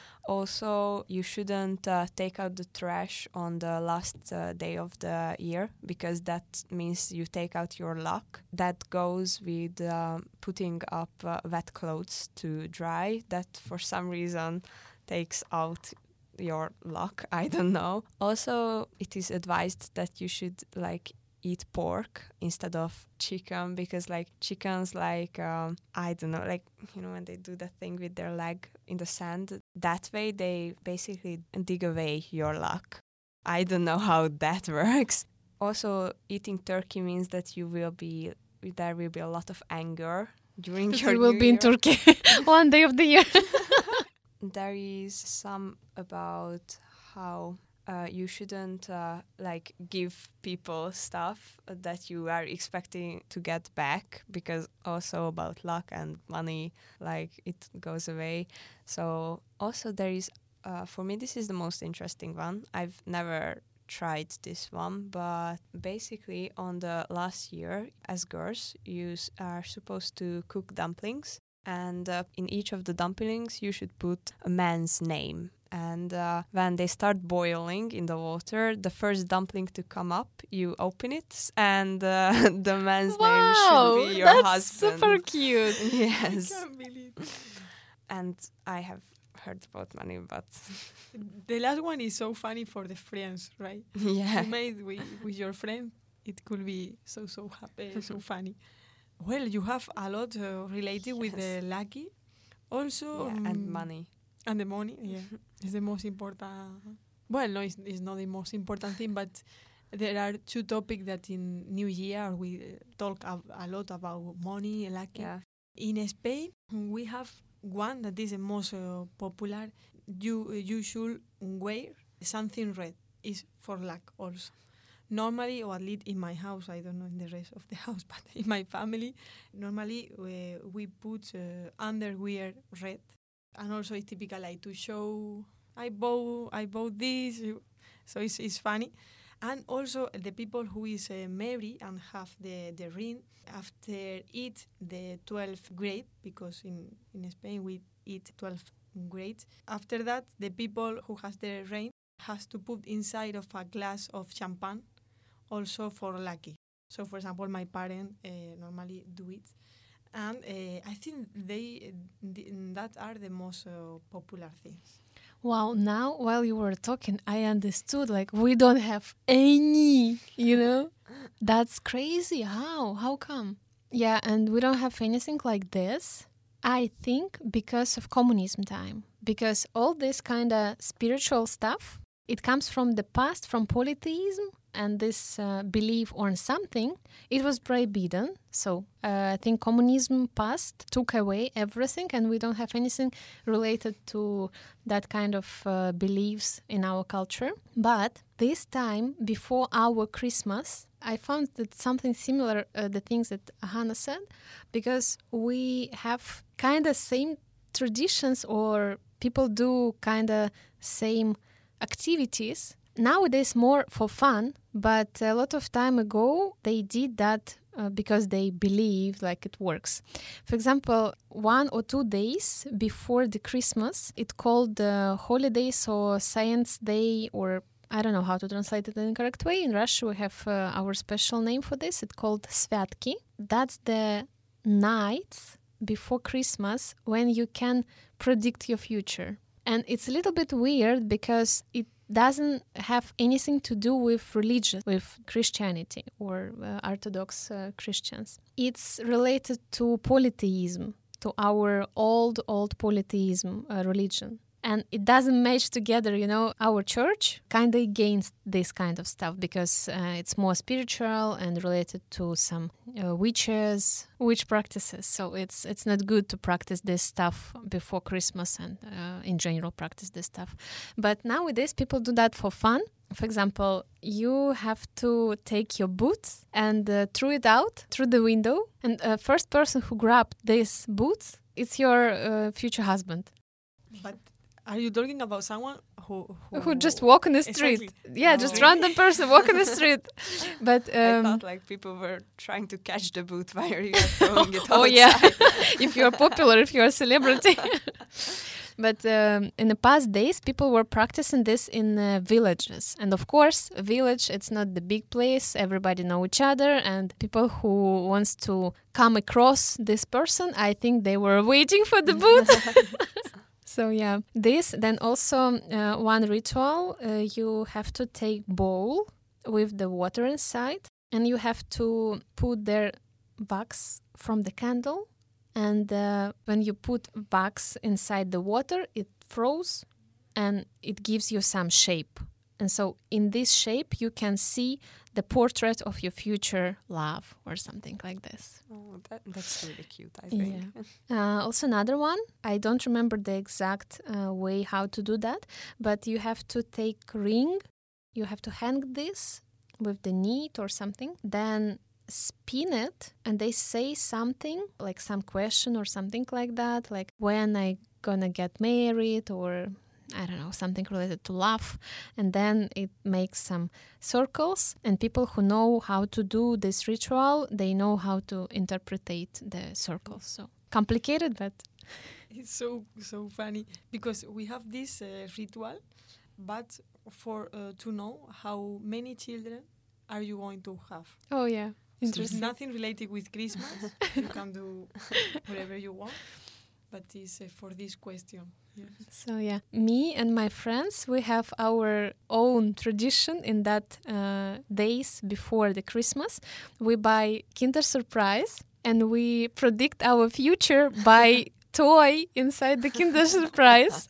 Speaker 2: Also, you shouldn't uh, take out the trash on the last uh, day of the year, because that means you take out your luck. That goes with uh, putting up uh, wet clothes to dry. That for some reason takes out your luck. I don't know. Also, it is advised that you should like eat pork instead of chicken, because like chickens, like um, I don't know, like, you know, when they do that thing with their leg in the sand, that way they basically dig away your luck. I don't know how that works. Also, eating turkey means that you will be there will be a lot of anger during your
Speaker 1: You will
Speaker 2: New
Speaker 1: be in
Speaker 2: Year.
Speaker 1: Turkey one day of the year.
Speaker 2: There is some about how uh, you shouldn't uh, like give people stuff that you are expecting to get back, because also about luck and money, like it goes away. So also there is, uh, for me, this is the most interesting one. I've never tried this one, but basically on the last year, as girls, you s- are supposed to cook dumplings, and uh, in each of the dumplings you should put a man's name. And uh, when they start boiling in the water, the first dumpling to come up, you open it, and uh, the man's name should be your
Speaker 1: that's
Speaker 2: husband.
Speaker 1: super cute.
Speaker 2: Yes.
Speaker 3: I can't believe.
Speaker 2: And I have heard about money, but
Speaker 3: The last one is so funny for the friends, right?
Speaker 2: yeah.
Speaker 3: You made with, with your friend, it could be so so happy, so funny. Well, you have a lot uh, related with the lucky, also
Speaker 2: Yeah, and
Speaker 3: um,
Speaker 2: money.
Speaker 3: and the money. Yeah, it's the most important. Well, no, it's, it's not the most important thing, but there are two topics that in New Year we uh, talk a, a lot about money and lucky.
Speaker 2: Yeah.
Speaker 3: In Spain, we have one that is the most uh, popular. You you should wear something red. Is for luck also. Normally, or at least in my house, I don't know in the rest of the house, but in my family, normally we, we put uh, underwear red, and also it's typical like to show I bought I bought this, so it's it's funny. And also the people who is uh, married and have the, the ring after eat the twelfth grade, because in, in Spain we eat twelve grades. After that, the people who has the ring has to put inside of a glass of champagne, also for lucky. So, for example, my parents uh, normally do it, and uh, I think they th- that are the most uh, popular things.
Speaker 1: Wow, now while you were talking, I understood, like, we don't have any, you know? That's crazy. How? How come? Yeah, and we don't have anything like this, I think, because of communism time. Because all this kind of spiritual stuff, it comes from the past, from polytheism, and this uh, belief on something, it was forbidden. So uh, I think communism passed, took away everything, and we don't have anything related to that kind of uh, beliefs in our culture. But this time, before our Christmas, I found that something similar, uh, the things that Hannah said, because we have kind of same traditions, or people do kind of same activities. Nowadays more for fun, but a lot of time ago they did that uh, because they believe like it works. For example, one or two days before the Christmas, it's called the holidays or Science Day, or I don't know how to translate it in the correct way. In Russia, we have uh, our special name for this. It's called Svyatki. That's the nights before Christmas when you can predict your future. And it's a little bit weird because it doesn't have anything to do with religion, with Christianity or uh, Orthodox uh, Christians. It's related to polytheism, to our old, old polytheism uh, religion. And it doesn't match together, you know, our church kind of against this kind of stuff because uh, it's more spiritual and related to some uh, witches, witch practices. So it's it's not good to practice this stuff before Christmas and uh, in general practice this stuff. But nowadays people do that for fun. For example, you have to take your boots and uh, throw it out through the window. And the uh, first person who grabbed these boots, it's your uh, future husband.
Speaker 3: But are you talking about someone who who,
Speaker 1: Who just walk on the street?
Speaker 3: Exactly.
Speaker 1: Yeah,
Speaker 3: Oh.
Speaker 1: just random person walk on the street. But
Speaker 2: I
Speaker 1: um,
Speaker 2: thought like people were trying to catch the boot while you are throwing it outside.
Speaker 1: oh yeah, if you're popular, if you're a celebrity. But um, in the past days, people were practicing this in uh, villages. And of course, a village, it's not the big place. Everybody know each other. And people who wants to come across this person, I think they were waiting for the boot. So yeah, this, then also uh, one ritual, uh, you have to take bowl with the water inside and you have to put their wax from the candle. And uh, when you put wax inside the water, it froze and it gives you some shape. And so in this shape, you can see the portrait of your future love or something like this.
Speaker 2: Oh, that, that's really cute, I think.
Speaker 1: Yeah. Uh, also another one, I don't remember the exact uh, way how to do that, but you have to take ring, you have to hang this with the knit or something, then spin it, and they say something, like some question or something like that, like when I gonna get married, or I don't know, something related to love. And then it makes some circles, and people who know how to do this ritual, they know how to interpretate the circles. So complicated, but
Speaker 3: It's so so funny because we have this uh, ritual, but for uh, to know how many children are you going to have.
Speaker 1: oh yeah,
Speaker 3: So it's
Speaker 1: interesting.
Speaker 3: nothing related with Christmas. You can do whatever you want, but it's uh, for this question. Yes.
Speaker 1: So yeah, me and my friends, we have our own tradition in that uh, days before the Christmas. We buy Kinder Surprise and we predict our future by toy inside the Kinder Surprise.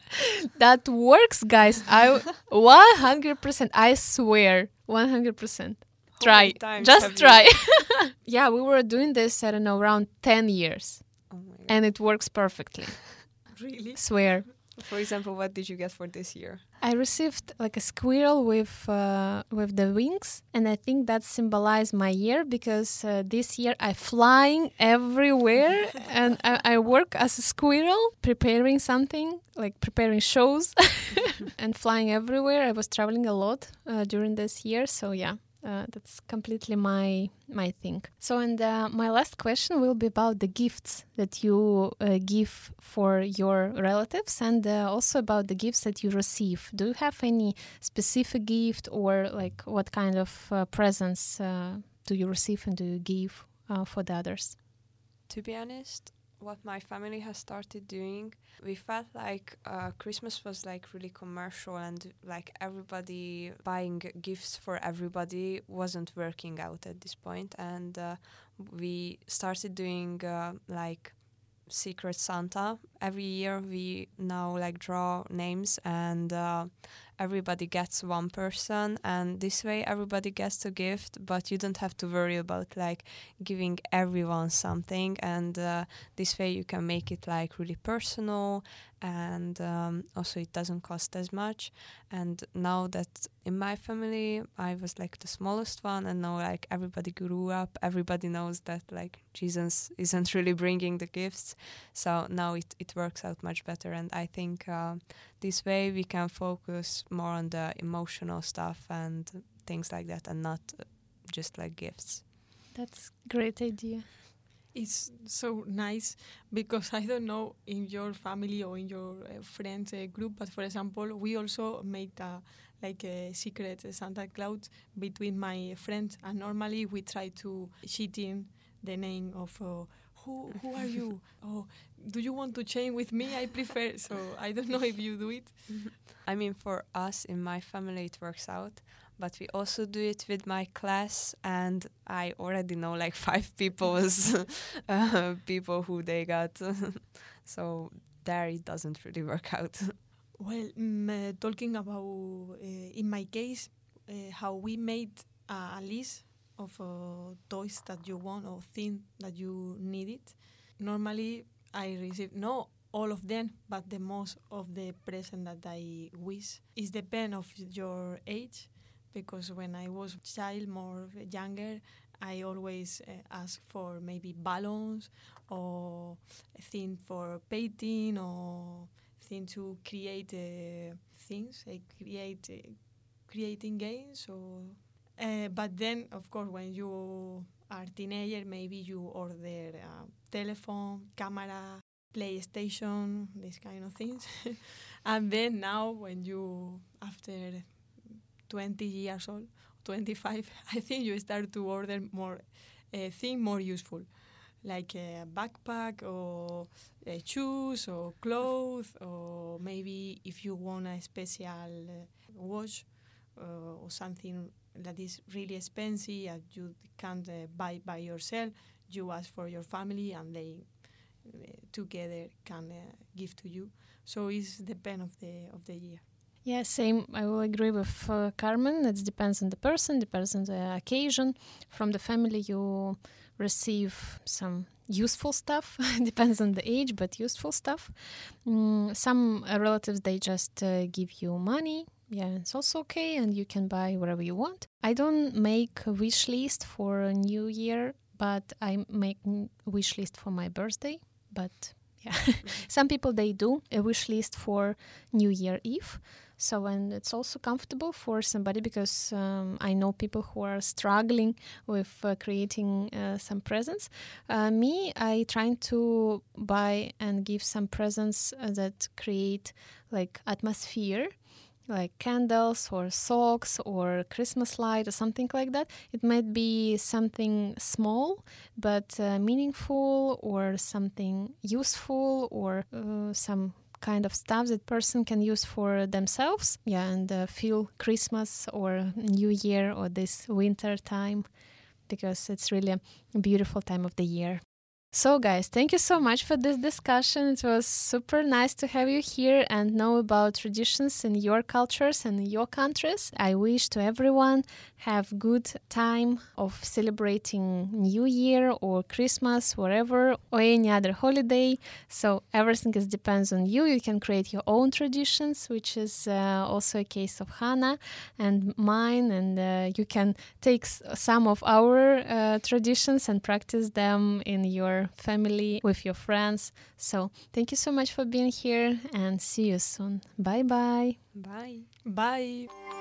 Speaker 1: That works, guys. I one hundred percent. I swear, one hundred percent.
Speaker 2: How
Speaker 1: Try,
Speaker 2: many times
Speaker 1: just
Speaker 2: have you-
Speaker 1: try. Yeah, we were doing this, I don't know, around ten years,
Speaker 2: Oh my God.
Speaker 1: and it works perfectly.
Speaker 3: Really?
Speaker 1: Swear.
Speaker 2: For example, what did you get for this year?
Speaker 1: I received like a squirrel with uh, with the wings, and I think that symbolized my year because uh, this year I flying everywhere, and I, I work as a squirrel, preparing something like preparing shows, and flying everywhere. I was traveling a lot uh, during this year, so yeah. Uh, that's completely my my thing. So, and uh, my last question will be about the gifts that you uh, give for your relatives, and uh, also about the gifts that you receive. Do you have any specific gift, or like what kind of uh, presents uh, do you receive and do you give uh, for the others?
Speaker 2: To be honest, what my family has started doing, we felt like uh, Christmas was like really commercial, and like everybody buying gifts for everybody wasn't working out at this point. And uh, we started doing uh, like Secret Santa. Every year we now like draw names, and uh, everybody gets one person, and this way everybody gets a gift, but you don't have to worry about like giving everyone something. And uh, this way you can make it like really personal, and um, also it doesn't cost as much. And now that in my family I was like the smallest one, and now like everybody grew up, everybody knows that like Jesus isn't really bringing the gifts, so now it, it works out much better. And I think uh, this way we can focus more on the emotional stuff and things like that, and not uh, just like gifts.
Speaker 1: That's a great idea.
Speaker 3: It's so nice because I don't know in your family or in your uh, friends uh, group, but for example, we also made a, like a secret Santa Claus between my friends, and normally we try to cheat in the name of uh, who who are you? Oh, do you want to change with me? I prefer. So I don't know if you do it.
Speaker 2: I mean, for us in my family it works out, but we also do it with my class, and I already know like five people's uh, people who they got. So there it doesn't really work out.
Speaker 3: Well, mm, uh, talking about uh, in my case, uh, how we made a list of uh, toys that you want or things that you needed. Normally, I receive no all of them, but the most of the present that I wish. It depends of your age, because when I was child, more younger, I always uh, ask for maybe balloons or thing for painting or thing to create uh, things, uh, create uh, creating games. Or uh, but then, of course, when you are teenager, maybe you order a telephone, camera, PlayStation, these kind of things. And then now, when you after twenty years old, twenty-five, I think you start to order more uh, things more useful, like a backpack or uh, shoes or clothes, or maybe if you want a special uh, watch uh, or something that is really expensive and you can't uh, buy by yourself. You ask for your family and they uh, together can uh, give to you. So it's depend of the of the year.
Speaker 1: Yeah, same. I will agree with uh, Carmen. It depends on the person, depends on the occasion. From the family, you receive some useful stuff. Depends on the age, but useful stuff. Mm, some uh, relatives, they just uh, give you money. Yeah, it's also okay, and you can buy whatever you want. I don't make a wish list for a new year, but I make a wish list for my birthday. But yeah, some people, they do a wish list for New Year Eve. So, and it's also comfortable for somebody because um, I know people who are struggling with uh, creating uh, some presents. Uh, me, I trying to buy and give some presents uh, that create like atmosphere, like candles or socks or Christmas light or something like that. It might be something small but uh, meaningful, or something useful, or uh, some kind of stuff that person can use for themselves, yeah, and uh, feel Christmas or New Year or this winter time, because it's really a beautiful time of the year. So guys, thank you so much for this discussion. It was super nice to have you here and know about traditions in your cultures and your countries. I wish to everyone have good time of celebrating New Year or Christmas, whatever, or any other holiday. So everything is depends on you. You can create your own traditions, which is uh, also a case of Hannah and mine. And uh, you can take s- some of our uh, traditions and practice them in your family, with your friends. So thank you so much for being here and see you soon. Bye bye.
Speaker 2: Bye.
Speaker 3: Bye.